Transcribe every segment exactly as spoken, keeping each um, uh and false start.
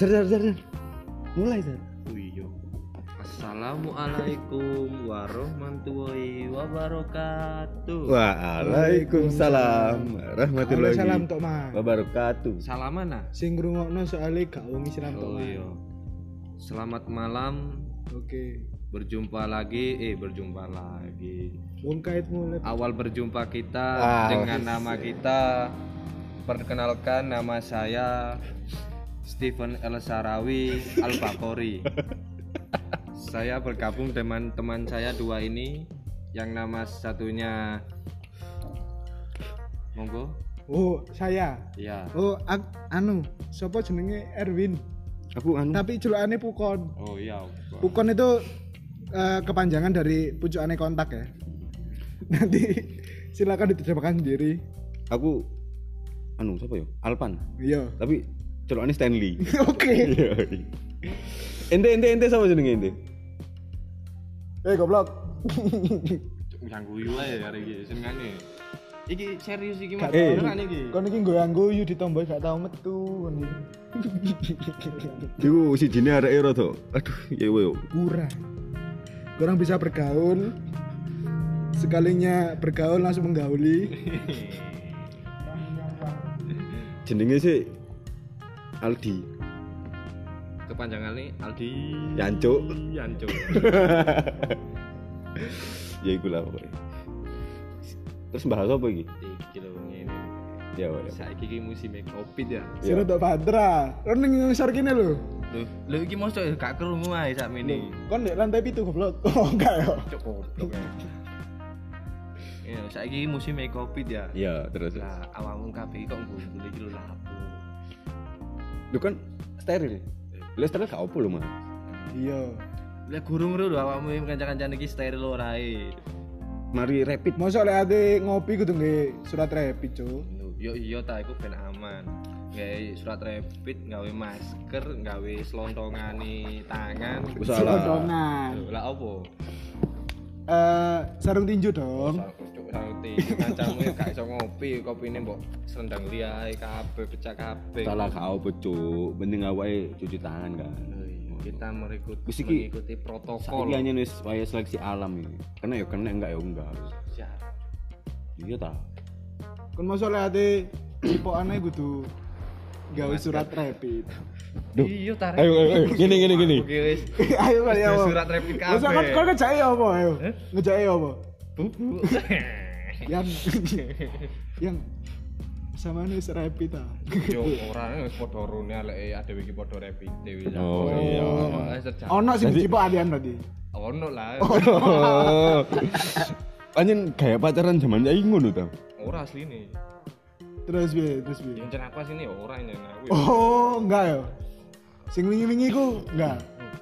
Zer zer zer. Mulai zer. Iya. Assalamualaikum warahmatullahi wabarakatuh. Waalaikumsalam warahmatullahi Salam tok Mas. wabarakatuh. Salaman nah. Sing ngrungokno soalé gak wong Islam tok Oh Mas. iya. Selamat malam. Oke. Berjumpa lagi, eh berjumpa lagi. Wong kait mulai. Awal berjumpa kita Ah, dengan nama kita. Perkenalkan, nama saya Stephen El Sarawi Al Bakori. Saya bergabung dengan teman saya dua ini, yang nama satunya monggo. Oh, saya. Iya. Oh, ak- anu, sapa jenenge Erwin. Aku anu. Tapi jelukane Pukon. Oh iya. Pukon itu uh, kepanjangan dari pucukane kontak ya. Nanti silakan diterjemahkan sendiri. Aku anu siapa yo? Alpan. Iya. Tapi celokane Stanley. Oke. Ente ente ente sama jenenge ente. Eh goblok. Yang guyu ae hari iki senengane. Iki serius iki Mas. Eh. Beneran iki. Kon iki nggo angguyu ditombo gak tau metu kon iki. Iku sijine areke rada. Aduh, ya yo. Kurang. Kurang bisa bergaul. Sekalinya bergaul langsung menggauli. Jenenge sih Aldi. Kepanjangan nih Aldi Yancuk. Yancuk. Ya iku lah pokoknya. Terus bahas apa iki? Iki lho ngene. Ya wae. Saiki iki musim Covid ya. Sira tok Badra. Kon ning ngisor kene lho. Lho, lho iki mosok gak krungu ae sakmene. Kon nek lantai pitu goblok. Oh enggak ya. Cuk goblok ya. Ya, saiki musim Covid ya. Ya, terus. Lah awakmu kabeh kok ngumpul iki lho lapo. Lu kan steril. Lu steril gak opo lho, Mas. Iya. Lah gurung lho awakmu kanca-kancane iki steril ora ae. Mari rapid. Mosok lek ade ngopi kudu nggae surat rapid, Cuk. Yo iya ta iku ben aman. Gawe surat rapid, gawe masker, gawe selontongane tangan. Salah. Selondongan. Lho, lah opo? Eh, sarung tinju dong. Cuk santai. Kancamu gak iso ngopi, kopine mbok selendang liae kabeh pecah kabeh. Salah gak opo, Cuk. Mending awake cuci tangan kan. Oh iya, kita mengikuti, Wis iki- mengikuti protokol. Saiki hanya wis waya seleksi alam ini. Kena ya kena enggak ya enggak. Siap. Iya ta. Kon mosok lek ade tipokane kudu gawe surat rapid. Duh. Iya tarik. Ayo ayo ayo. Gini gini gini. Oke wis. Ayo kali ya. Surat rapid kabeh. Mosok kon kon ngejake apa ayo? Ngejake apa? Bubu. Yang yang sama nih rapid ah. Yo ora wis padha rune lek adewe iki padha rapid wis. Oh, iya. Ono sing Jadi- cipokan berarti. Ono lah. Oh. Anjen gaya pacaran zaman saiki ngono ta. Ora asline. Terus piye? Terus piye? Yang apa sini ora ini aku. Oh, enggak ya. Sing wingi-wingi ku enggak.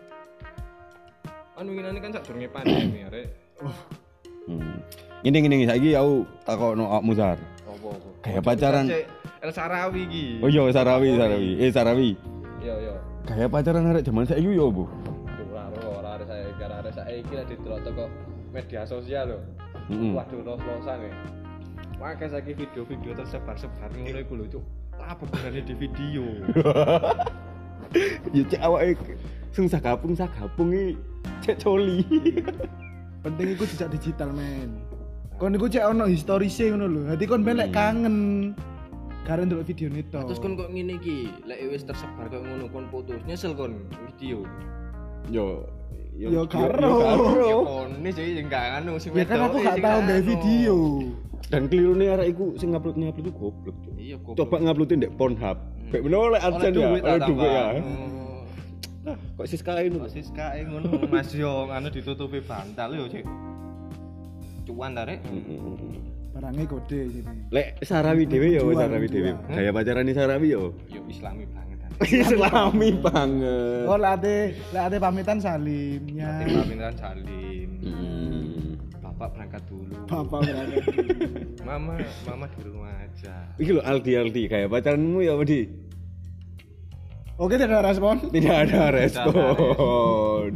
Anu ngene kan sak durunge pandemi arek. Hmm. Ini gini saiki aku takokno awakmu Sar. Apa-apa. Gaya pacaran. El Sarawi iki. Oh iya Sarawi Sarawi. Eh Sarawi. Iya iya. Gaya pacaran arek zaman saiki yo opo? Ora ora arek saya gara arek saya iki lah didelok teko media sosial lho. Heeh. Waduh los-losan ya. Makanya saiki video-video tersebar-sebar ngono iku lho, Cuk. Apa gunane di video? Ya cek awake sing sagapung sagapung iki cek coli. Penting iku jejak digital, men. Kon iku cek ono historise ngono lho. Dadi kon ben lek kangen karo ndelok videone to. Terus kon kok ngene iki, lek wis tersebar kok ngono kon putus, nyesel kon video. Yo Yo karo. Ya kon ini sih enggak anu sing Ya kan aku gak tau gawe video. Dan kelirune arek iku sing ngupload-ngupload itu goblok, Cuk. Iya kok. Coba nguploadin ndek Pornhub. Kayak bener oleh adsense ya, oleh duit ya. Nah, kok Siska ini? Kok Siska ngono Mas yo anu ditutupi bantal yo, Cik. Cuan ta rek? Barangnya kode sini. Lek Sarawi dhewe yo, Jual, Sarawi dhewe. jual. Gaya pacarane Sarawi yo. Yo islami banget kan. Islami banget. Oh, lek ade lek ade pamitan salimnya. Nanti pamitan salim. Hmm. Bapak berangkat dulu. Bapak berangkat. Mama, mama di rumah aja. Iki lho Aldi Aldi gaya pacaranmu ya apa di? Oke, tidak ada respon. Tidak ada respon.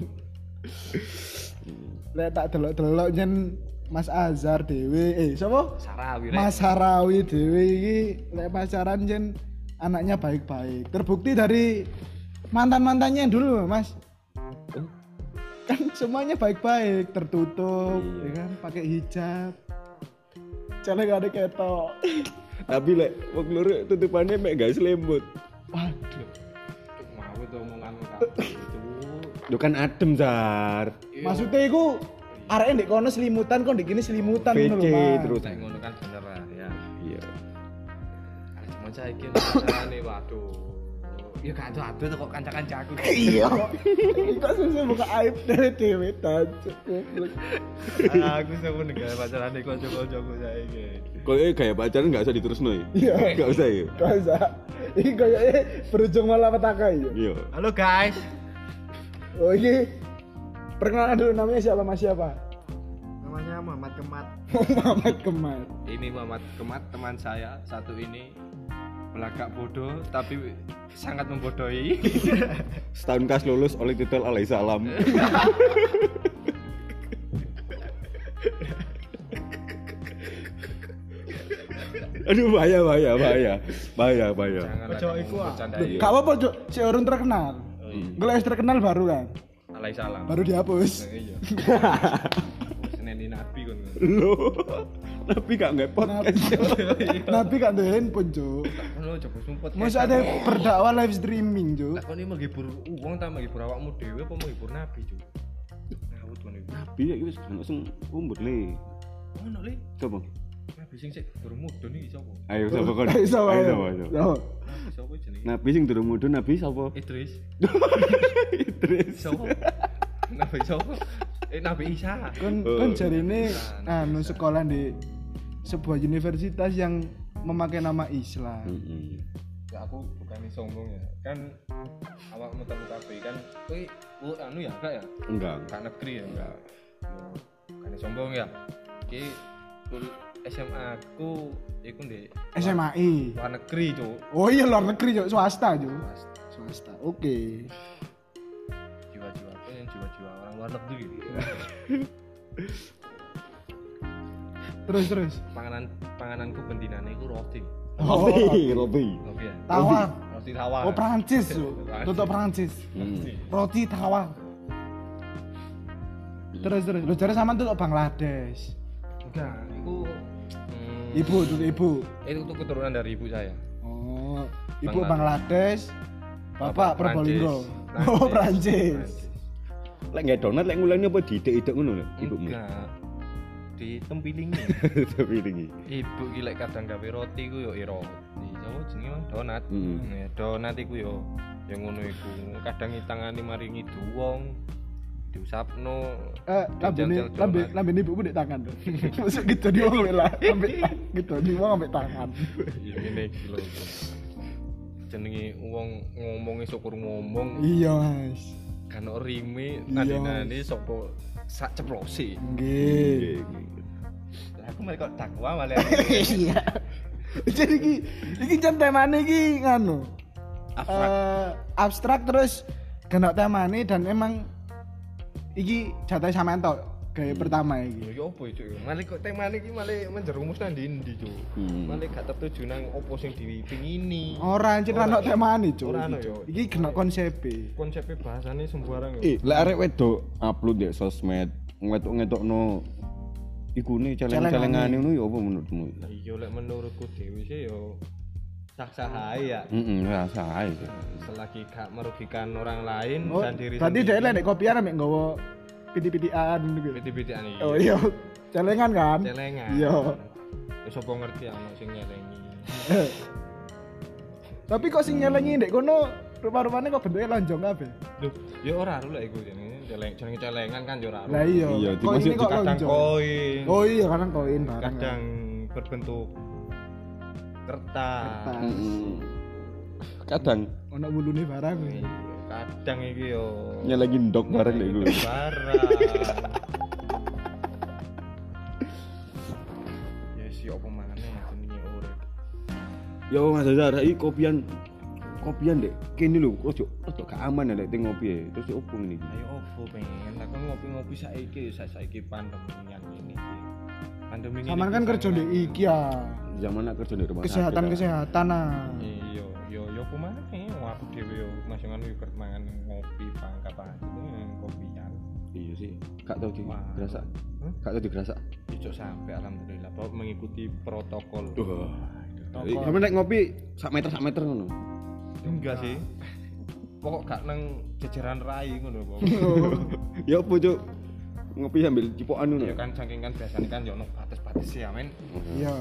Lek tak delok-delok jen Mas Azhar dhewe, eh sapa? Sarawi rek. Mas Harawi dhewe iki lek pacaran jen anaknya baik-baik. Terbukti dari mantan-mantannya dulu, Mas. Kan semuanya baik-baik, tertutup, iya. ya kan, pakai hijab. Cale gak ada ketok. Tapi lek wong loro tutupannya mek gak selembut. Waduh. Mau itu omongan kabeh itu. Lu kan adem, Zar. Maksudnya iku arek ndek kono selimutan kok ndek kene selimutan P C ngono lho, Mas. terus. Nek ngono kan bener lah ya. Iya. Cuma saiki masalahane waduh. Ya gak ado-ado kok kanca-kancaku. Iya. Kok susah buka aib dari dhewe tancuk goblok. Aku seneng nek pacarane kanca-kancaku saiki. Kalau eh kayak pacaran nggak usah diterusno ya? Iya. Nggak usah ya? Gak usah. Ini kayaknya berujung malah petaka ya. Iya. Halo guys. Oh ini perkenalan dulu, namanya siapa, Mas, siapa? Namanya Muhammad Kemat. Muhammad Kemal. Ini Muhammad Kemat, teman saya satu ini. Belagak bodoh tapi sangat membodohi. Setahun kas lulus oleh titel alaihissalam. Aduh bahaya bahaya bahaya bahaya bahaya. Jangan Ojo iku ah. bercandai. Gak apa-apa, Cuk. Si orang terkenal. iya. Kalau yang terkenal baru kan. Alaihissalam. Baru dihapus. Iya. Seneni nabi kon. Loh, tapi gak nggak podcast. Nabi kan tuh handphone, Cuk. Ono coba sumpet. Masa ada berdakwah live streaming, Cuk. Lah kon iki menghibur wong ta menghibur awakmu dhewe apa menghibur nabi, Cuk? Ngawut kon iki. Nabi ya wis ono sing umur le. Ono le. Coba. Nabi sing sik durung mudhun iki sapa? Ayo sapa kon? Ayo, sapa, ayo. sapa, sapa. Sapa? Nabi sapa jenenge? Nabi sing durung mudhun nabi sapa? Idris. Idris. Sapa? Nabi sapa? Eh Nabi Isa. Kon Oh. kon jarine anu sekolah di sebuah universitas yang memakai nama Islam. Heeh. Ya aku bukan sombong ya. Kan awakmu telu kabeh kan kowe oh, anu ya enggak ya? Enggak. Enggak negeri ya enggak. Yo bukan sombong ya. Iki kul S M A ku iku ndek S M A I. luar negeri, Cuk. Oh iya, luar negeri, Cuk. Swasta, Cuk. Mas, Swasta. Oke. jiwa-jiwa apa yang jiwa-jiwa orang luar negeri. Terus terus. Panganan pangananku bentinane iku roti. Robi, Robi. Roti ya. Tawar. Roti tawar. Oh, Prancis, Cuk. Tutuk Prancis. Hmm. Roti tawar. Terus terus. Lu jare sampean tutuk Bangladesh. Enggak, itu hmm, Ibu, tutuk ibu. itu tuh keturunan dari ibu saya. Oh, ibu Bangladesh. Bangladesh. Bapak Probolinggo. Oh, Prancis. Lek nggak donat lek ngulangnya apa diidek-idek ngono lho ibumu. Enggak. Di tempilingi. Tapi ini. Ibu ki lek kadang gawe roti ku yo i roti. Sopo jenenge Mang? Donat. Hmm. Ya donat iku yo yang ngono iku. Kadang itangane maringi duwong. Diusapno. Eh, lambene jajal-jajal lambe donat. lambene ibumu di tangan tuh. Masuk gitu di wong lah. Ambek gitu di wong ambek tangan. Ya ngene iki lho. Jenenge wong ngomongi syukur ngomong. Iya, Mas. Kan rime Iya. nadine sapa sak ceplosi. Nggih. Lah aku malah kok takwa malah. Iya. Jadi iki iki jan temane iki nganu. Abstrak. Eh, abstrak terus kena temane dan emang iki jatah sampean tok gawe pertama iki. Ya opo itu? Malah kok temane iki malah menjerumus nang ndi, Cuk. Hmm. Malah gak tertuju nang opo sing dipingini. Ora anjir Ora. ana temane, Cuk. Ora ana iki, yo. Cuk. Iki kena konsepe. Konsepnya bahasane sembarang Eh, lek arek wedok upload di sosmed, ngetok-ngetokno iku ne celeng-celengane ngono ya apa menurutmu? Lah iya lek menurutku dhewe sih yo sah-sah ae ya. Heeh, rasa ae. Selagi gak merugikan orang lain Oh, dan diri berarti dhek lek nek kopian ambek nggawa piti-pitian gitu. Piti-pitian iki. Oh iya, celengan kan? Celengan. Iya. Ya sapa ngerti ana sing nyelengi. Tapi kok sing nyelengi ndek kono rupa-rupane kok bentuke lonjong kabeh. Loh, ya ora ro lek iku jenenge celeng jenenge celengan kan ya ora ro. Lah iya. Iya, Kok dimasuk ini kok Kadang lonjong? koin. Oh iya, kadang koin barang. Kadang berbentuk kertas. Kertas. Heeh. Kadang Ono wulune barang. Iya, kadang iki yo nyelengi ndok bareng lek iku. barang. Ya si opo maneh jenenge urip. Yo Mas Azhar, iki kopian kopian dek kene lho, ojo ojo gak aman ya lek teng ngopi e. Terus opo ngene iki? Ayo opo pengen aku ngopi-ngopi saiki sa saiki pandemi yang ini iki. Pandemi ini. Saman kan kerja ndek iki ya. Zaman nak kerja di rumah sakit, ah. Kesehatan-kesehatan ah. Iya, yo yo apa maneh? Wong aku dhewe yo masih sing anu yo mangan ngopi pangkat aja kopian. Iya sih, gak tau di Wah. gerasak. Hmm? Gak tau di gerasak. Ijo sampai alhamdulillah bahwa mengikuti protokol. Wah. Toko. Sampe nek ngopi sak meter sak meter ngono. Enggak sih. Pokok gak nang jajaran rai ngono kok. Ya opo, Cuk? Ngopi sambil cipokan ngono. Ya kan saking kan biasanya kan yo ono batas-batas ya men. Iya.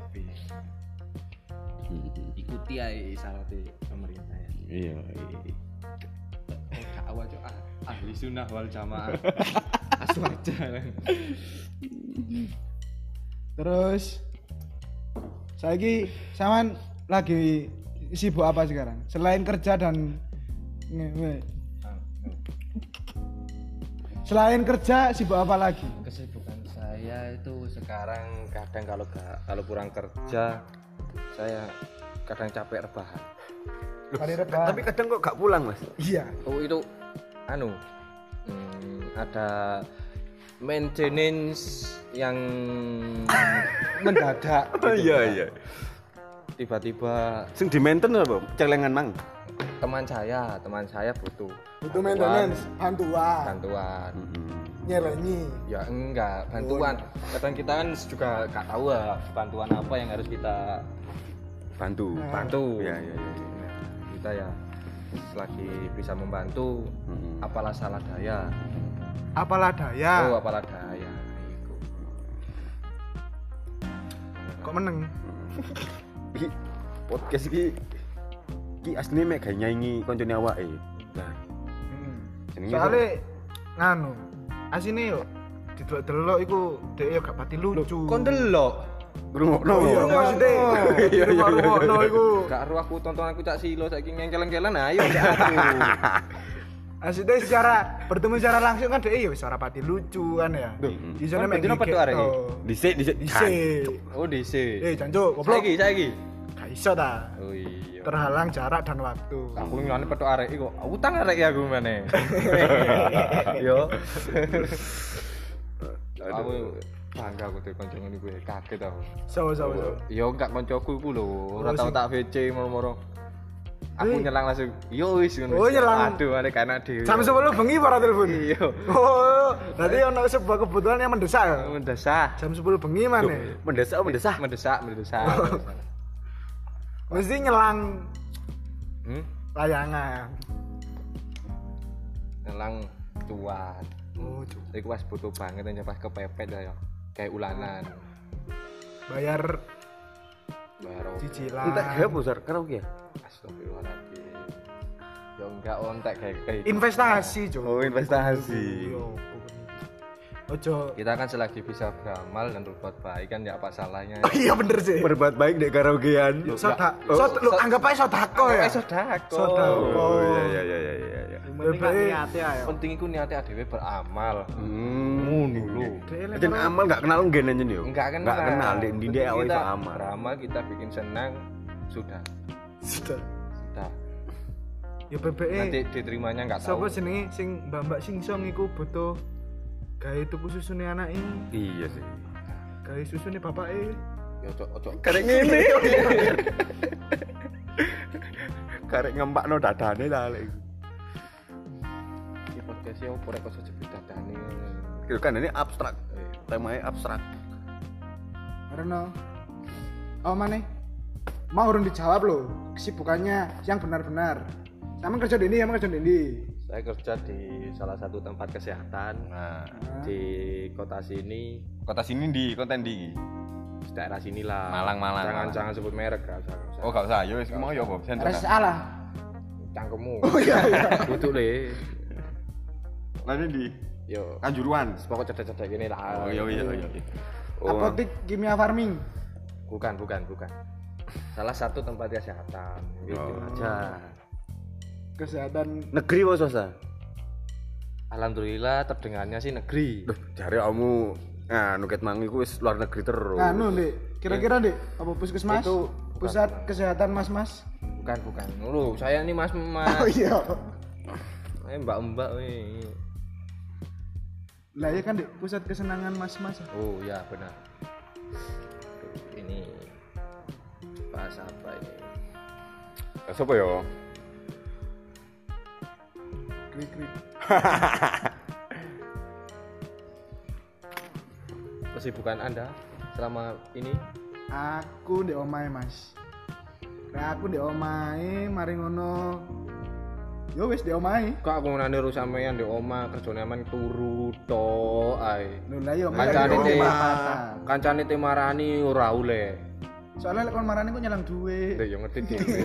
Ikuti ae syaratnya pemerintah ya. Iya, iya. Oh, dakwah cok ah, ahli sunnah wal jamaah. Aswaja. Terus saiki sampean lagi sibuk apa sekarang? Selain kerja dan nge- Selain kerja sibuk apa lagi? Kesibukan saya itu sekarang kadang kalau gak, kalau kurang kerja saya kadang capek rebahan. Hari rebahan. Tapi kadang kok gak pulang, Mas. Iya. Oh itu anu hmm, ada maintenance yang mendadak. Oh gitu iya kan. iya. Tiba-tiba Sing di mainten apa? Celengan mang. teman saya, teman saya butuh Butuh maintenance, bantuan, bantuan. nyelenyi. Ya enggak, bantuan. Kadang kita kan juga gak tahu ya bantuan apa yang harus kita Bantu. bantu. Iya iya iya. iya. Kita ya selagi bisa membantu, Mm-mm. apalah salah daya. Apalah daya. Oh, apalah daya. Iku. Kok meneng? Iki podcast iki iki asline mek gawe nyanyi koncone awake. Nah, Hmm. jenenge Soale nganu, asine yo didelok-delok iku dhek yo gak pati lucu. Kon delok. ngrungokno. Oh iya, maksudnya Iya, iya, rumah-rumahno iku. Gak ero aku tonton aku cak silo saiki ngengkel-ngkelan ayo cak aku. Maksudnya secara bertemu secara langsung kan dhek yo wis ora pati lucu kan ya. Mm-mm. Isone Kon mek bedino petuk arek iki? Dhisik dhisik. Dhisik. Oh, dhisik. Eh, jancuk, goblok. Saiki, saiki. Gak iso ta. Oh iya. Terhalang jarak dan waktu. Aku ngene petuk arek iku. Utang arek ya aku meneh. Yo. Aku bangga aku tuh kanca ngene kuwi kaget aku. So so so. Yo enggak kancaku iku lho, ora Oh, tau sing- tak V C moro-moro. Aku Wih. nyelang langsung. Yo wis ngono. Oh, nyelang. Aduh, arek enak dhewe. Jam sepuluh bengi para telepon. Iya. Oh, berarti ono sebuah kebutuhan yang mendesak ya. Mendesah. Jam sepuluh bengi mana? Mendesak mendesah. Mendesak, mendesak. Mesti nyelang Hmm? layangan. Nyelang cuan. Oh, cu- Iku pas butuh banget yang pas kepepet ya. Kayak ulanan. bayar Bayar opo. cicilan. Entek gawe besar karaoke ya? Astagfirullahaladzim. Ya enggak ontek kayak kayak gitu. Investasi, Cuk. Oh, investasi. Yo. Ojo. Kita kan selagi bisa beramal dan berbuat baik kan ya apa salahnya. Oh iya bener sih. Berbuat baik dek karaokean. Soda, Oh, sod, lu so- anggap aja sodako ya. Eh sodako. Sodako. Oh iya iya iya iya iya. iya. Penting niate ayo. Penting iku niate adewe beramal. Hmm. Ngono lho. Jen amal gak kenal nggen anjen yo. Enggak kenal. Enggak kenal dek ndi dek awake Kita iso amal. Beramal kita bikin senang sudah. Sudah. Sudah. Ya B B E. Nanti diterimanya enggak tahu. Sapa jenenge sing mbak-mbak singsong iku butuh gawe tuku susune anake, Iya sih. gawe susune bapake. Ya ojo ojo. Karek ngene. Karek ngempakno dadane lah lek. Iki podcast e opo rek kok sebut dadane. Kira kan ini abstrak. Temanya abstrak. Karena oh mana? Mau urun dijawab loh kesibukannya yang benar-benar. Sama kerja di ini, sama kerja di ini. Saya kerja di salah satu tempat kesehatan Nah, di kota sini, kota sini di konten di. daerah sinilah. Malang, Malang, Jangan Malang. jangan sebut merek, gak usah. gak usah. Oh, gak usah. Yo wis mau yo kok. Senter. R S A lah. Cangkemmu. Oh iya iya. Butuh le. Lalu di Yo, Kanjuruan. pokok cedek-cedek gini lah. Oh iya iya iya. Oh. Apotik kimia farming. Bukan, bukan, bukan. Salah satu tempat kesehatan. Gitu Oh. aja. Kesehatan. Negeri apa swasta? Alhamdulillah terdengarnya sih negeri. Duh, jare kamu nah nuket mangi ku wis luar negeri terus. Anu, Dik. Kira-kira, Dik, apa puskesmas? Itu pusat kesehatan Mas-mas. Bukan, bukan. Lu, saya ini Mas Mas. Oh iya. Eh, Mbak-mbak weh. Lah ya kan, Dik, pusat kesenangan Mas-mas. Oh ya benar. Ini bahasa apa ini? Sopo yo? krik-krik. Kesibukan Anda selama ini? Aku ndek omahe, Mas. Lah aku ndek omahe, mari ngono. Yo wis ndek omahe. Kok aku nane ru sampean ndek omah kerjane aman turu tok ae. Lho lah yo Kancane te patah. kancane te marani ora oleh. Soalnya lek kon marani kok nyelang duit. Lho yo ngerti dhewe.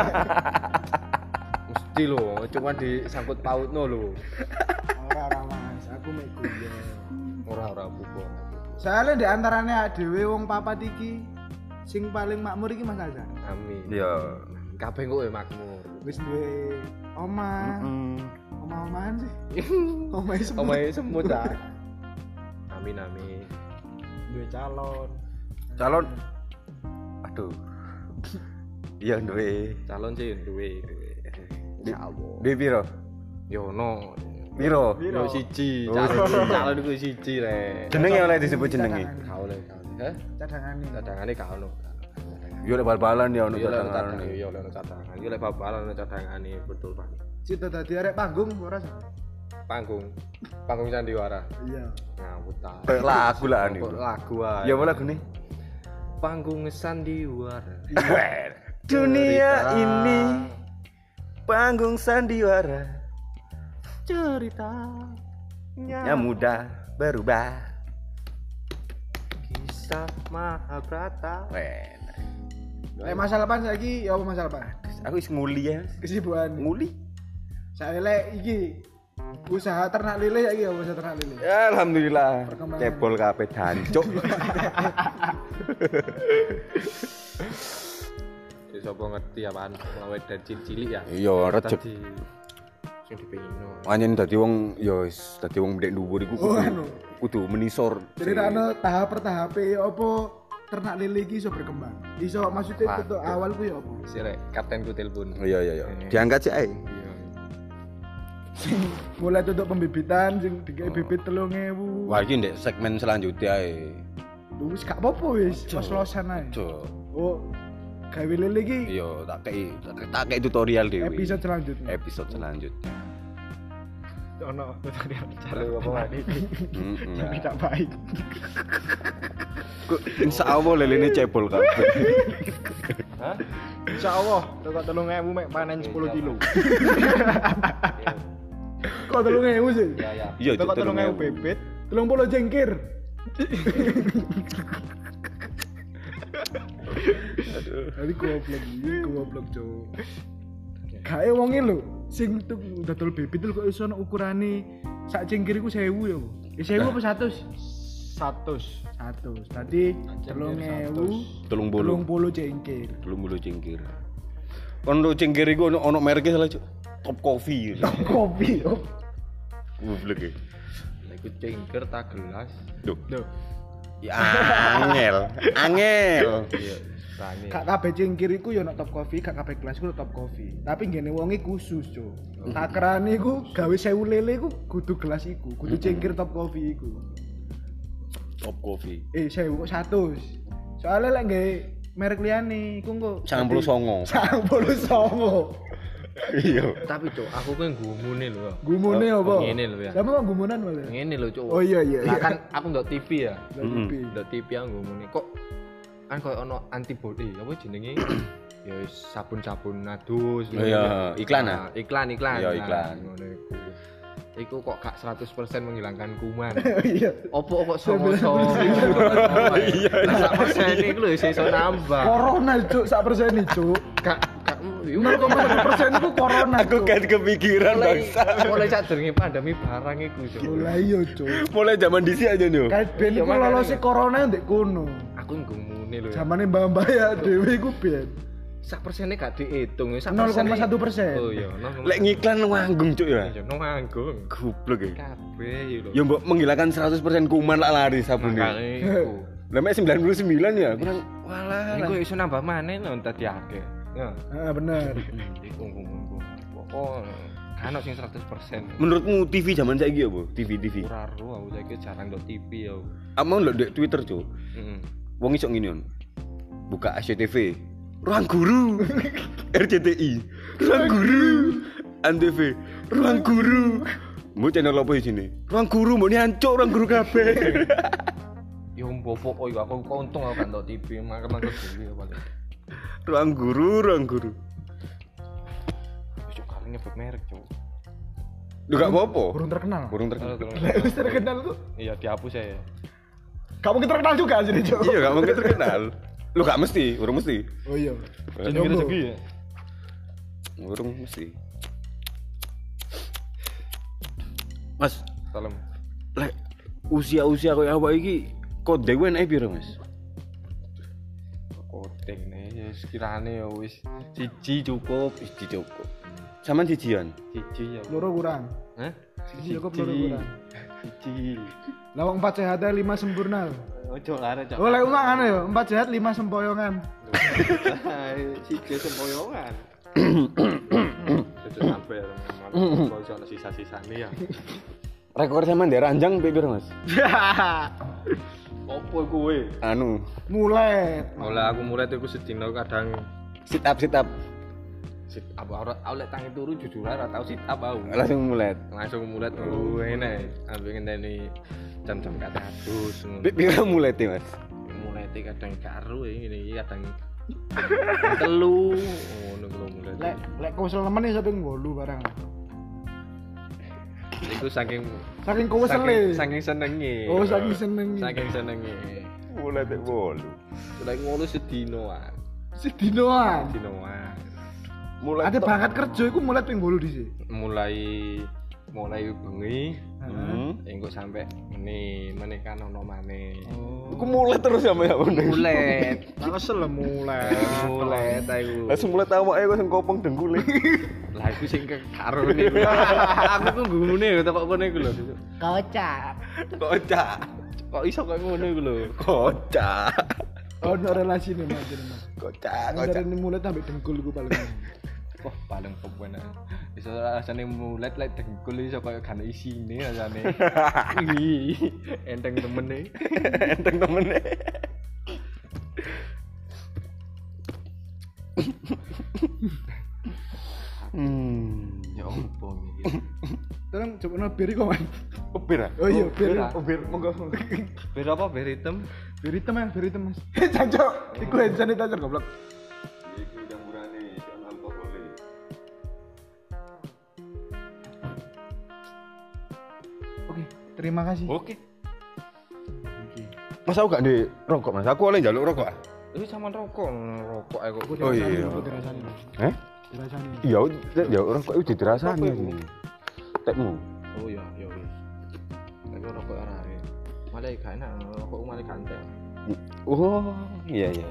Mesti lho, cuma disangkut pautno lho. Ora ora Mas, aku mek guyon. Ora ora apa-apa. Soalnya di antaranya dhewe wong papat iki sing paling makmur iki Mas Azhar. Amin. Iya. Kabeh kok makmur. Wis duwe omah. Heeh. Omah-omahan sih. Omahe semut. Omahe semut ah. Amin amin. Duwe calon. Calon. Aduh. Iya duwe. Calon sih duwe duwe. Insyaallah. Duwe piro? Yo no. Piro? Yo siji. Oh, Calon siji. calon iku siji rek. Jenenge oleh disebut jenenge. Gak oleh gak oleh. Hah? Cadangane. Cadangane gak ono. Yo lek bal-balan ya ono Yo lek cadangan. cadangan, yo lek cadangan. Yo lek bal-balan ono cadangane betul Pak. Cita dadi arek panggung ora sih? Panggung. Panggung sandiwara. Iya. Ngawut ta. Kayak lagu lah nih. Kok lagu ae. Ya apa lagu nih? Panggung sandiwara. Dunia Cerita. ini panggung sandiwara. Cerita Yang mudah berubah. kisah Mahabharata. Wen. Lek masalah apa saiki ya apa masalah apa? Aku wis nguli ya. Kesibukan. Nguli. Saya lek iki usaha ternak lele saiki ya usaha ternak lele. Ya alhamdulillah. Perkembangan. Cebol kabeh dancuk. Ya sapa ngerti apaan mulai dari cilik ya. Iya, recep. Tadi sing dipengino. Anjen dadi wong ya wis dadi wong ndek dhuwur iku Oh, kudu anu. kudu menisor. Jadi ana tahap per tahape apa ternak lele iki iso berkembang. Iso maksudnya Waduh. untuk awal ku ya apa? Sirek kaptenku telepon. Iya iya iya. Diangkat sih ae. Iya. Mulai tutup pembibitan sing dikai bibit telung ewu. Wah iki ndek segmen selanjutnya ae. Lu wis gak apa-apa wis, los-losan ae. Cuk. Oh, gawe lele iki Iya, tak kei tak kei tutorial dhewe. episode selanjutnya. Episode selanjutnya. Ono tutorial Halo apa Pak? Heeh. yang tidak baik. Kok insyaallah lelene cebol kabeh. Hah? Insyaallah toko telung ewu mek panen sepuluh kilo. Iya. Kok telung ewu sih? Ya ya. Iya, Toko Cuk, telung ewu telung ewu. bebet, telung puluh jengkir. Jadi goblok iki, goblok cuk. Kae wonge lho, sing tuk dodol bibit lho kok iso ono ukurane sak cengkir iku seribu ya. Eh seribu apa seratus? seratus. seratus. Tadi telung ewu, Telung telung bolu. puluh cengkir. Telung bolu cengkir. Kon lo cengkir iku ono ono mereke salah, Cuk. Top Coffee. Kopi yo. Goblok e. Lek iku cengker tak gelas. Duh. Loh, Ya angel. Angel. Iya. Tani. gak kabeh cengkir iku yo ono top coffee, gak kabeh gelas iku ono top coffee. Tapi ngene wonge khusus, Cuk. Takerane iku gawe sewu lele iku kudu gelas iku, kudu cengkir top coffee iku. Top Coffee. Eh, sewu kok seratus. Soalnya lek nggae merek liyane iku kok sembilan puluh sembilan. sembilan puluh sembilan. Iya. Tapi cuk, aku kan gumune lho. Gumune Oh, apa? ngene lho ya. Lah kok gumunan malah. Ngene lho cuk. Oh iya iya. Lah iya. kan aku ndok T V ya. Lah, T V. Ndok T V aku gumune kok kan koyo ono antibody apa jenenge? Ya wis sabun-sabun adus. Oh iya, iklan ah? Nah, iklan iklan. Iya, Nah, iklan. ngono iku. Iku kok gak seratus persen menghilangkan kuman. Iya. Opo kok songo-songo. Iya. Sak persen iku lho iso nambah. Corona cuk sak persen iki cuk. Gak gak nol koma satu persen itu corona. Aku Cuk. kan kepikiran mulai bangsa. mulai sadurunge pandemi barang iku cuk. Lah iya cuk. Mulai zaman dhisik aja nih. Kayak ben Iya, iku makanya. lolose corona ndek kono. Aku ngumune lho ya. Zamane mbah-mbah ya dhewe iku ben. Sak persennya gak dihitung sak nol koma persennya- satu persen. Oh iya, nol koma satu. Lek ngiklan nganggung cuk ya. Iya, nang nganggung. Goblok e. Kabeh iki lho. Ya mbok menghilangkan seratus persen kuman lah lari sabune. Makane iku. Lah mek sembilan puluh sembilan ya, kurang walah. Iku iso nambah maneh lho dadi akeh. Ya. Heeh bener. Iku ngomongku. Pokok kan sing seratus persen. Menurutmu T V zaman saiki apa? T V T V. Ora ro aku saiki jarang ndok T V ya. Amang lho ndek Twitter cuk. Heeh. Wong iso ngene on. Buka S C T V. Ruang guru. R C T I. Ruang guru. Antv, ruang guru. Mau channel apa di sini? Ruang guru, mau nyancuk ruang guru kabeh. Yo mbopok koyo aku kok untung aku gak nonton T V, mangkel-mangkel dhewe paling. Ruang guru, ruang guru. Cuk kali nyebut merek, Cuk. Lu gak apa-apa. Burung terkenal. Burung terkenal. Wis terkenal tuh. Iya dihapus ya. Gak mungkin terkenal juga sih, Cuk. Iya, gak mungkin terkenal. Lu gak mesti, urung mesti. Oh iya. Jenenge rezeki ya. Urung mesti. Mas, Salam. lek usia-usia koyo awak iki kok dhewe enak piro, Mas? Kodeng nih, sekiranya ya wis siji cukup, Siji cukup. Saman sijian. siji ya. Loro kurang. Hah? Siji cukup loro kurang. Siji. Lah wong empat sehat lima sempurna. Ojo lare, Cok. Oh lek umah ngono ya, empat sehat lima sempoyongan. Siji sempoyongan. Itu sampai kalau soal sisa-sisane ya. Rekor sampean ndek ranjang piro, Mas? Opo kowe? Anu, Mulai. Mulai aku mulai tuh aku sedino kadang sit up sit up. sit up ora oleh tangi turu jujur ora tau sit up aku. Langsung mulai. Langsung mulai tuh enak. Ambil ngenteni jam-jam kata adus ngono. Piro mulai teh, Mas? Mulai teh kadang karo ngene iki kadang telu ngono lho mulai. Lek lek kosel nemen iso ping wolu barang. Iku saking Saking kosele. saking senenge. Oh, saking senenge. Saking senenge. Mulai teh wolu. Lek ngono sedino ah. Sedinoan. Sedinoan. Mulai Ade berangkat kerja iku mulai ping wolu dhisik. Mulai mulai bengi Hmm. engko sampe ngene menekan ono maneh. Oh. Iku mulai terus ya, Mas. Mulai. Kesel lah mulai. Mulai ta iku. Langsung mulai awake kok sing kopong dengkule. Lah iku sing karo niku. Aku ku nggune ya tekok kene iku lho. Kocak. Kocak. Kok iso kok ngono iku lho. Kocak. Ono relasi nih Mas. Kocak, Dari kocak. ini mulai sampai dengkul iku paling. Wah, paling pepenak. Iso rasane mulet lek dengkul iso koyo kan isine rasane. Ih, enteng temene. Enteng temene. Hmm. Ya opo iki. Tolong coba no bir kok, Mas. Opir ah? Oh iya, bir. bir. Opir, monggo. Bir apa bir hitam? Bir hitam ya, bir hitam, Mas. Jancok, iku hand sanitizer goblok. Iku jamurane jan alkohol. Oke, terima kasih. Oke. Mas aku gak ndek rokok, Mas. Aku oleh njaluk rokok. ah. Ini sama rokok, rokok aku. Aku Oh, dirasani, iya. aku dirasani. Eh? Dirasani. Iya, ya rokok itu dirasani. Tekmu. Oh iya, iya wis. Tapi rokok ora ya. Malah gak enak, rokok malah ganteng. Oh, iya iya.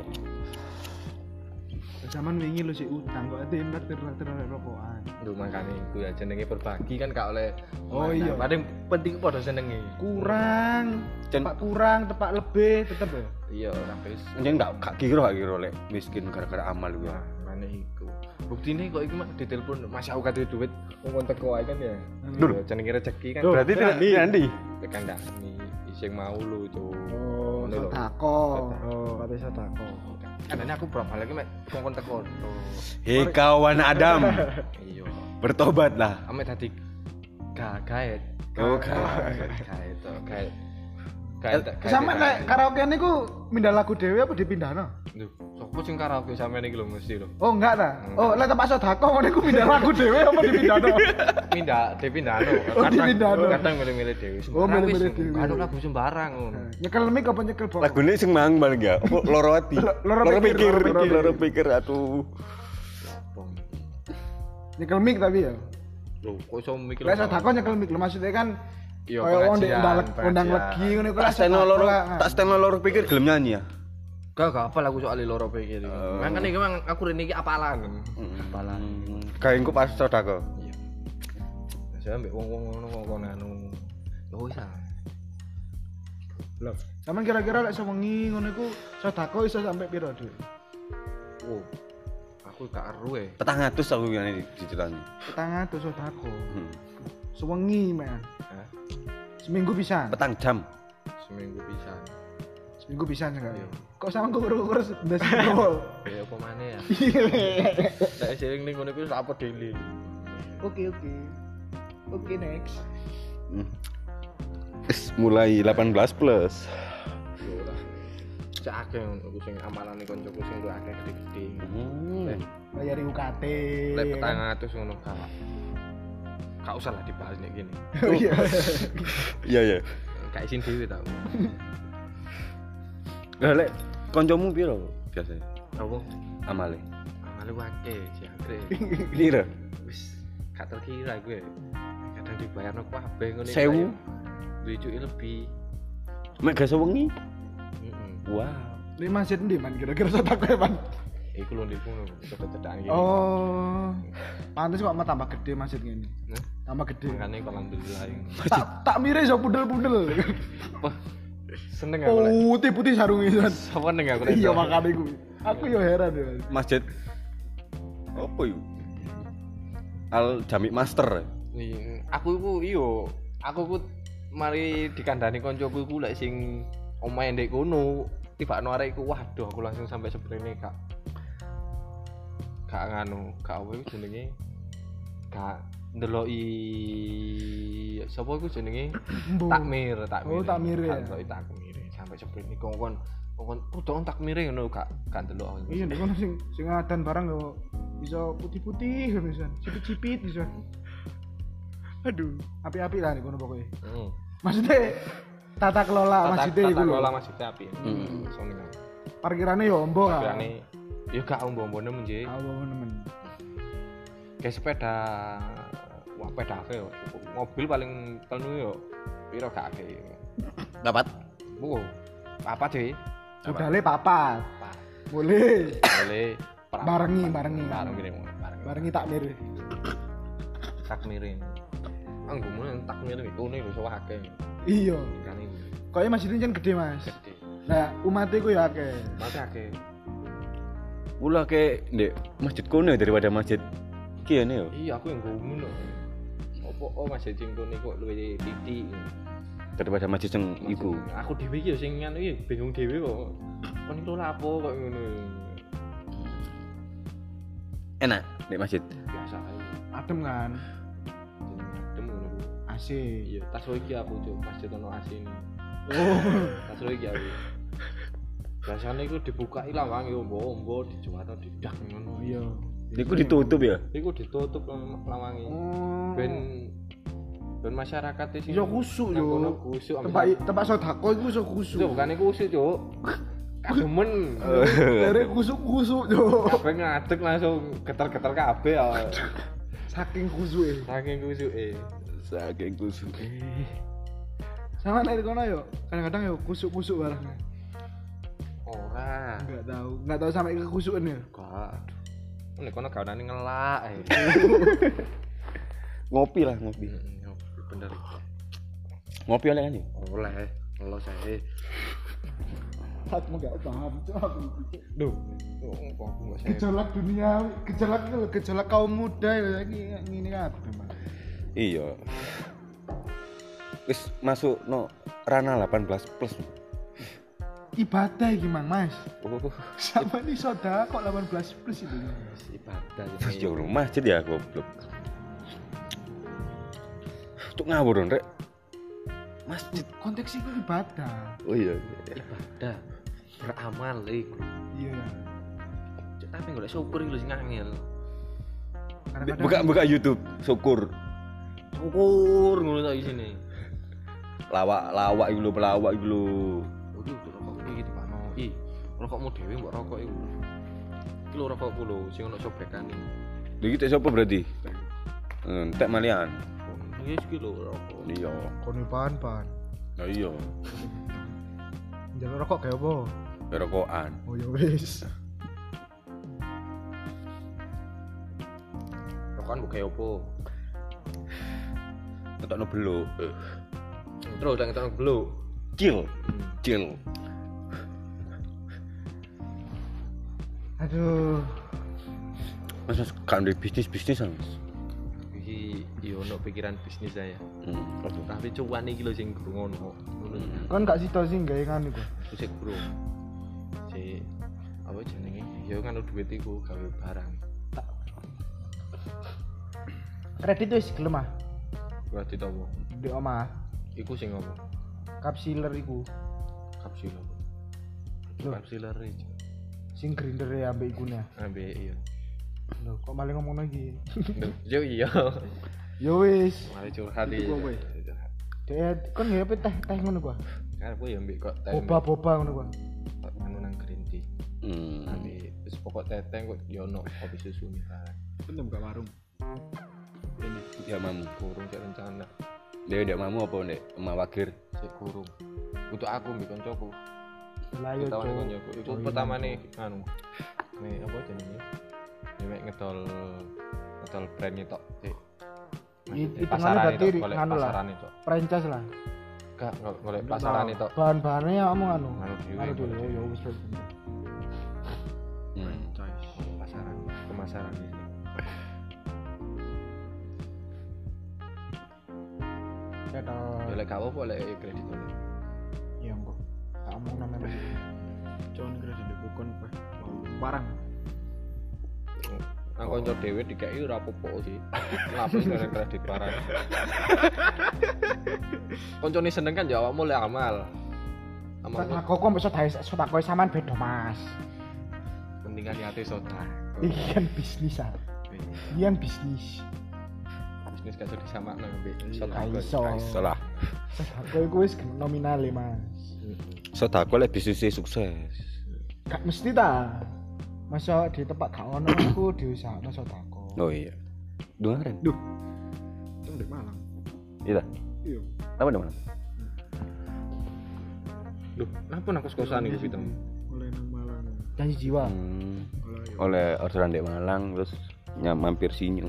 Zaman wingi lu sih utang kok ate traktir-traktir rokokan. Lho makane iku ya jenenge berbagi kan gak oleh. Oh, iya. Paling penting padha senenge. Kurang, Jen- tepak kurang, tepak lebih tetep ya. Iya, tapi wis. Nyen gak gak kira gak kira lek miskin gara-gara amal iku. Wah, mana iku. Buktine kok iki mak ditelepon Mas aku kate duit wong teko ae kan ya. Lur. Ya jenenge rezeki kan. Loh, Berarti tidak Andi. tekan dani sing mau lu, Cuk. Oh, Ngono lho. sodako. Oh, kate sodako. Kadane aku berapa lagi mek wong teko. Hei kawan Adam, Iya. bertobatlah. Ame tadi gaet. Oh, gaet. Gaet to, gaet. Gaet. Sama kayak karaoke niku mindah lagu dhewe apa dipindahno? Lho, sopo sing karaoke sampean iki lho mesti lho. Oh, enggak ta. Enggak. Oh, lek tepak sodako ngono iku mindah lagu dhewe apa dipindahno? Pindah, dipindahno. Oh, dipindahno. Kadang milih-milih dhewe. Oh, milih-milih dhewe. Anu lagu sembarang ngono. Nyekel mic apa nyekel box? Lagune sing mang balik ya. Apa loro ati? Loro Loro pikir, pikir, loro pikir. loro pikir atuh. Bong. Nyekel mic tapi ya. Lho, kok iso mikir. Lek sodako nyekel mic lho maksudnya kan Iya, kaya wong ndek pengajian, ndalek undang pengajian. legi ngono iku Tak lah steno sodako loro, lah. tak steno loro pikir gelem nyanyi ya. Gak gak apa lagu soal loro pikir. Oh. Makane iki mang aku rene iki apalan. Apalan. Kayak engko pas sodako. Iya. Saya ambek wong-wong ngono kok kono anu. Ya wis ah. Lho, sampean kira-kira lek sewengi ngono iku sodako iso sampai piro, Dik? Oh. Aku gak aru e. Petang atus aku ngene diceritani. Petang atus sodako. Hmm. Sewengi, men. Hah? Seminggu pisan. Petang jam. Seminggu pisan. Seminggu pisan enggak? Iya. Kok sama kukur-kukur ndas gol. Ya apa maneh ya? Saya sering ning ngono iku apa dele. Oke oke. Oke next. Hmm. Wis mulai delapan belas plus. Yo ora. Cak akeh aku sing amalane kancaku sing luwih akeh gede-gede. Hmm. Bayar U K T. Lek petang atus ngono gak. Gak usah lah dibahas nek gini. Oh iya. Iya ya. Gak isin dhewe tau. Lah lek kancamu piro biasanya? Apa? Amale. Amale akeh jangkrik. Piro? Wis gak terkira gue. Kadang dibayarno kabeh ngono. Sewu? Duit lebih. Mek gak sewengi? Heeh. Wow. Ini masjid ndi man kira-kira sotak kowe man? Iku lho ndekku cedak-cedakan gini. Oh. Pantes kok mah tambah gede masjid ngene. Nah, Tambah gede. makane kok alhamdulillah. Tak tak mire iso pundel-pundel. Wah. Seneng aku lek. Putih-putih sarungnya. Sopo neng aku lek. Iya makane iku. Aku yo heran ya. Masjid apa yuk? Al Jamik Master. Nih, aku iku iyo, aku ku mari dikandani koncoku iku lek sing omahe ndek kono, tibakno arek iku waduh aku langsung sampai sebrene kak. Kak nganu, kak apa iku jenenge? Kak ndeloki sapa iku jenenge? Mbo. Takmir, takmir. Oh, takmir ya. Kak ndeloki takmir sampai sebrene kongkon kongkon kudu takmire ngono kak, gak ndelok aku. Iya nek kono sing sing adan barang yo iso putih-putih ngono iso. Cipit-cipit iso. Aduh, api-api lah nek kono pokoke. Heeh. Maksudnya tata kelola masjidnya iku lho. Tata kelola masjidnya api. Hmm. Seneng. Parkirane yo ombo kan. Parkirane ya gak ombo-ombone menje. Ah, ombo nemen. Kayak sepeda, wah sepeda akeh yo. Mobil paling penuh yo piro gak akeh. Dapat. Wow. Apa sih? Budale papat. Apa? Boleh. Boleh Barengi, barengi. Bareng gini, bareng. Barengi takmir. Takmirin. Anggomu nang takmirin iku ne iso akeh. Iya. Kan iki. Kayaknya masjidnya kan gede, Mas. Gede. Nah, umatnya ku ya akeh. Mate akeh. Ula ke ndek masjid kono daripada masjid kene yo. Iya, aku yang ngono lho. Opo oh masjid sing kene kok luwih titik. Daripada masjid sing iku. Aku dhewe iki yo sing anu iki bingung dhewe kok. Kon iki lho lapo kok ngono. Enak ndek masjid. Biasa ae. Adem kan? Adem ngono. A C. Iya, tas lo iki aku cuk, masjid ono A C ini. Oh. Tas lo iki aku. Biasane iku dibukai lawange ombo-ombo dijual didak ngono. Iya. Iku ditutup ya. Iku ditutup lawange. Oh. Ben ben masyarakat sing Iso khusuk yo. Kono khusuk ambek Tempat tempat sedekah iku iso khusuk. Cuk, bukan iku khusuk cuk. Kademen. Dari khusuk-khusuk yo. Kabeh ngadeg langsung getar-getar kabeh ya. Saking khusuke. Saking khusuke. Saking kusuk. Sama nek kono yo, kadang-kadang yo kusuk-kusuk barangnya. Ora. Enggak tahu, enggak tahu sampai kekusukan ya. Gak. Nek kono gaweane ngelak ae. Ngopi lah ngopi. Bener. Ngopi oleh kan ya? Oleh. Ngelos ae. Aku enggak paham, cok aku. Duh. Kok aku enggak saya. Gejolak dunia, gejolak itu loh, gejolak kaum muda ya ini ini kabeh, Mas. Iya. Wis masuk no ranah delapan belas plus. Ibadah iki, Mang, Mas. Oh, Sama nih soda kok delapan belas plus itu. Ibadah ya Allah, masjid ya goblok. Cuk ngawur dong, Rek. Masjid. Konteks itu ibadah. Oh iya. Ibadah. Beramal iku. Iya. Cuk tapi golek syukur iki lho sing angel. Kadang-kadang- Buka buka YouTube, syukur. Syukur ngono tak isine. Lawak lawak iku lho, pelawak iku lho. Oh iki rokok iki dipano. Ih, rokokmu dhewe mbok rokok iku. Iki lho rokokku lho sing ono sobrekane. Lha iki tek sapa berarti? Entek malian. Iya iki lho rokok. Iya. Kono pan-pan. Nah iya. Njaluk rokok kayak apa? Rokokan. Oh ya wis. Rokokan mbok gawe opo? Ketokno beluk. Terus tak ngetokno beluk. Cil. Cil. Aduh. Mas mas kan bisnis-bisnis Mas. Iki yo ono pikiran bisnis saya. Hmm. Tapi cuan iki lho sing ngono. Ngono. Kan gak sida sing gawe kan iku. Sik bro. Si apa jenenge? Ya kan duit iku gawe barang. Tak kredit wis gelem ah. Berarti tomo. Di omah. Iku sing ngomong. Kapsiler iku. Kapsiler. Loh. Kapsiler iki. Sing grinder ya ambek ikune. Ambek iya. Lho, kok malah ngomong lagi. Yo iya. Yo wis. Mari curhat iki. Dek kon ya teh teh ngono gua. Karepku ya mbek kok teh. Boba-boba ngono gua. Kok anu nang green tea. Hmm. Ambek wis pokok teteng kok yo ono kopi susu nih. Bener gak warung. Ini ya mamu. Kurung cek rencana. Dia udah mamu apa ndek? Emak Wagir. Cek kurung. Untuk aku mbek koncoku. Lah yo Pertama cok. koncoku. Iku pertama nih anu. Nih apa jenenge? Nek ngedol ngedol brand tok. Cek. Itu ngene berarti anu lah. Franchise lah. Gak golek pasaran itu. Bahan-bahannya ya omong anu. Anu dhewe. Anu dhewe yo wis wis. Hmm. Pasaran, pemasaran gitu. Ya toh. Ya lek gak apa lek kredit ngono. Ya engko. Tak omong namanya. Jon kredit bukan apa. Barang. Nang kanca dhewe dikai ora apa-apa sih. Lapis dari kredit barang. Koncone seneng kan ya awakmu lek amal. Amal Tak kok kok iso dae sotakoe sampean beda, Mas. pentingan niate soda. Iki kan bisnis ah. Iki kan bisnis. Bisnis gak iso disamakno mbek soda. Gak iso. Salah. Sotakoe ku wis nominal e, Mas. Sedako lek bisnisnya sukses. Gak mesti ta. Masa di tempat gak ono iku diusahakno sodako. Oh iya. Dengaran. Duh. Itu di Malang. Iya. Iya. Apa di Malang? Loh, napa nang kos-kosan iku pitem? Oleh nang Malang. Janji jiwa. Hmm. Oleh orderan di Malang terus nyam mampir sinyu.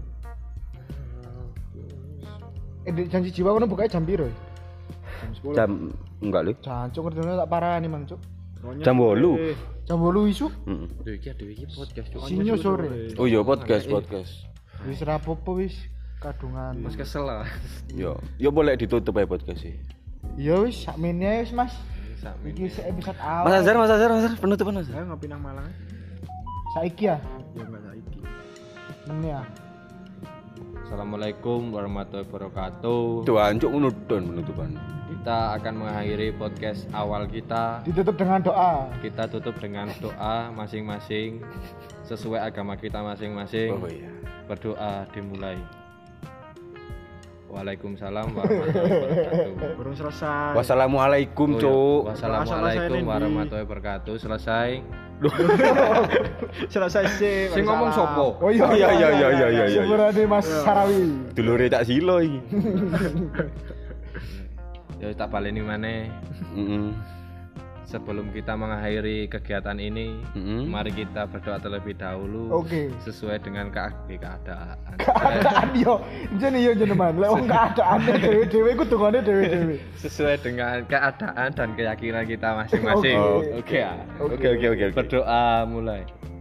Eh di janji jiwa kono bukanya jam piro? Jam sepuluh. Jam enggak lho. Jancuk ngerti tak parani Mang Cuk. Jam delapan. Jam delapan isu. Heeh. Lho iki aduh iki podcast cuk. Sinyo sore. Oh iya podcast podcast. Wis rapopo wis kadungan. Mas kesel lah. Yo, yo boleh ditutup ya podcast sih. Ya wis sakmene wis Mas. Sakmene. Iki sik episode awal. Mas Azhar, Mas Azhar, Mas Azhar, penutupan Mas. Ayo ngopi nang Malang. Saiki ya? Ya enggak saiki. Men ya. Assalamualaikum warahmatullahi wabarakatuh. Tuh anjuk ngono don penutupan. Kita akan mengakhiri podcast awal kita. Ditutup dengan doa. Kita tutup dengan doa masing-masing sesuai agama kita masing-masing. Oh iya. Berdoa dimulai. Waalaikumsalam warahmatullahi wabarakatuh. Burung selesai. Wassalamualaikum, Oh, Cuk. iya. Wassalamualaikum warahmatullahi wabarakatuh. Selesai. Selesai sih. Sing ngomong sopo? Oh iya iya iya iya iya iya. Sebenarnya Mas Sarawi. Dulure tak silo iki. Ya tak baleni maneh. Heeh. Sebelum kita mengakhiri kegiatan ini, Mm-mm. mari kita berdoa terlebih dahulu. Oke. Sesuai dengan ke- keadaan. Keadaan yo, jene yo jenengan. Lek wong keadaane dhewe-dhewe ku dungane dhewe-dhewe. Sesuai dengan keadaan dan keyakinan kita masing-masing. Oke. Oke ya. Oke oke oke. Berdoa mulai.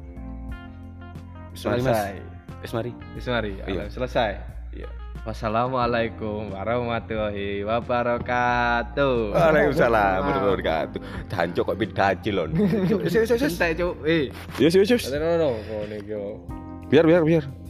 Selesai. Wis mari. Wis mari. Iya. Selesai. Iya. Wassalamualaikum warahmatullahi wabarakatuh. Waalaikumsalam warahmatullahi wabarakatuh. Jancuk kok bidaji lon. Wis wis wis. Santai, Cuk. Eh. Yes yes yes. No no no. Ngene iki. Biar biar biar.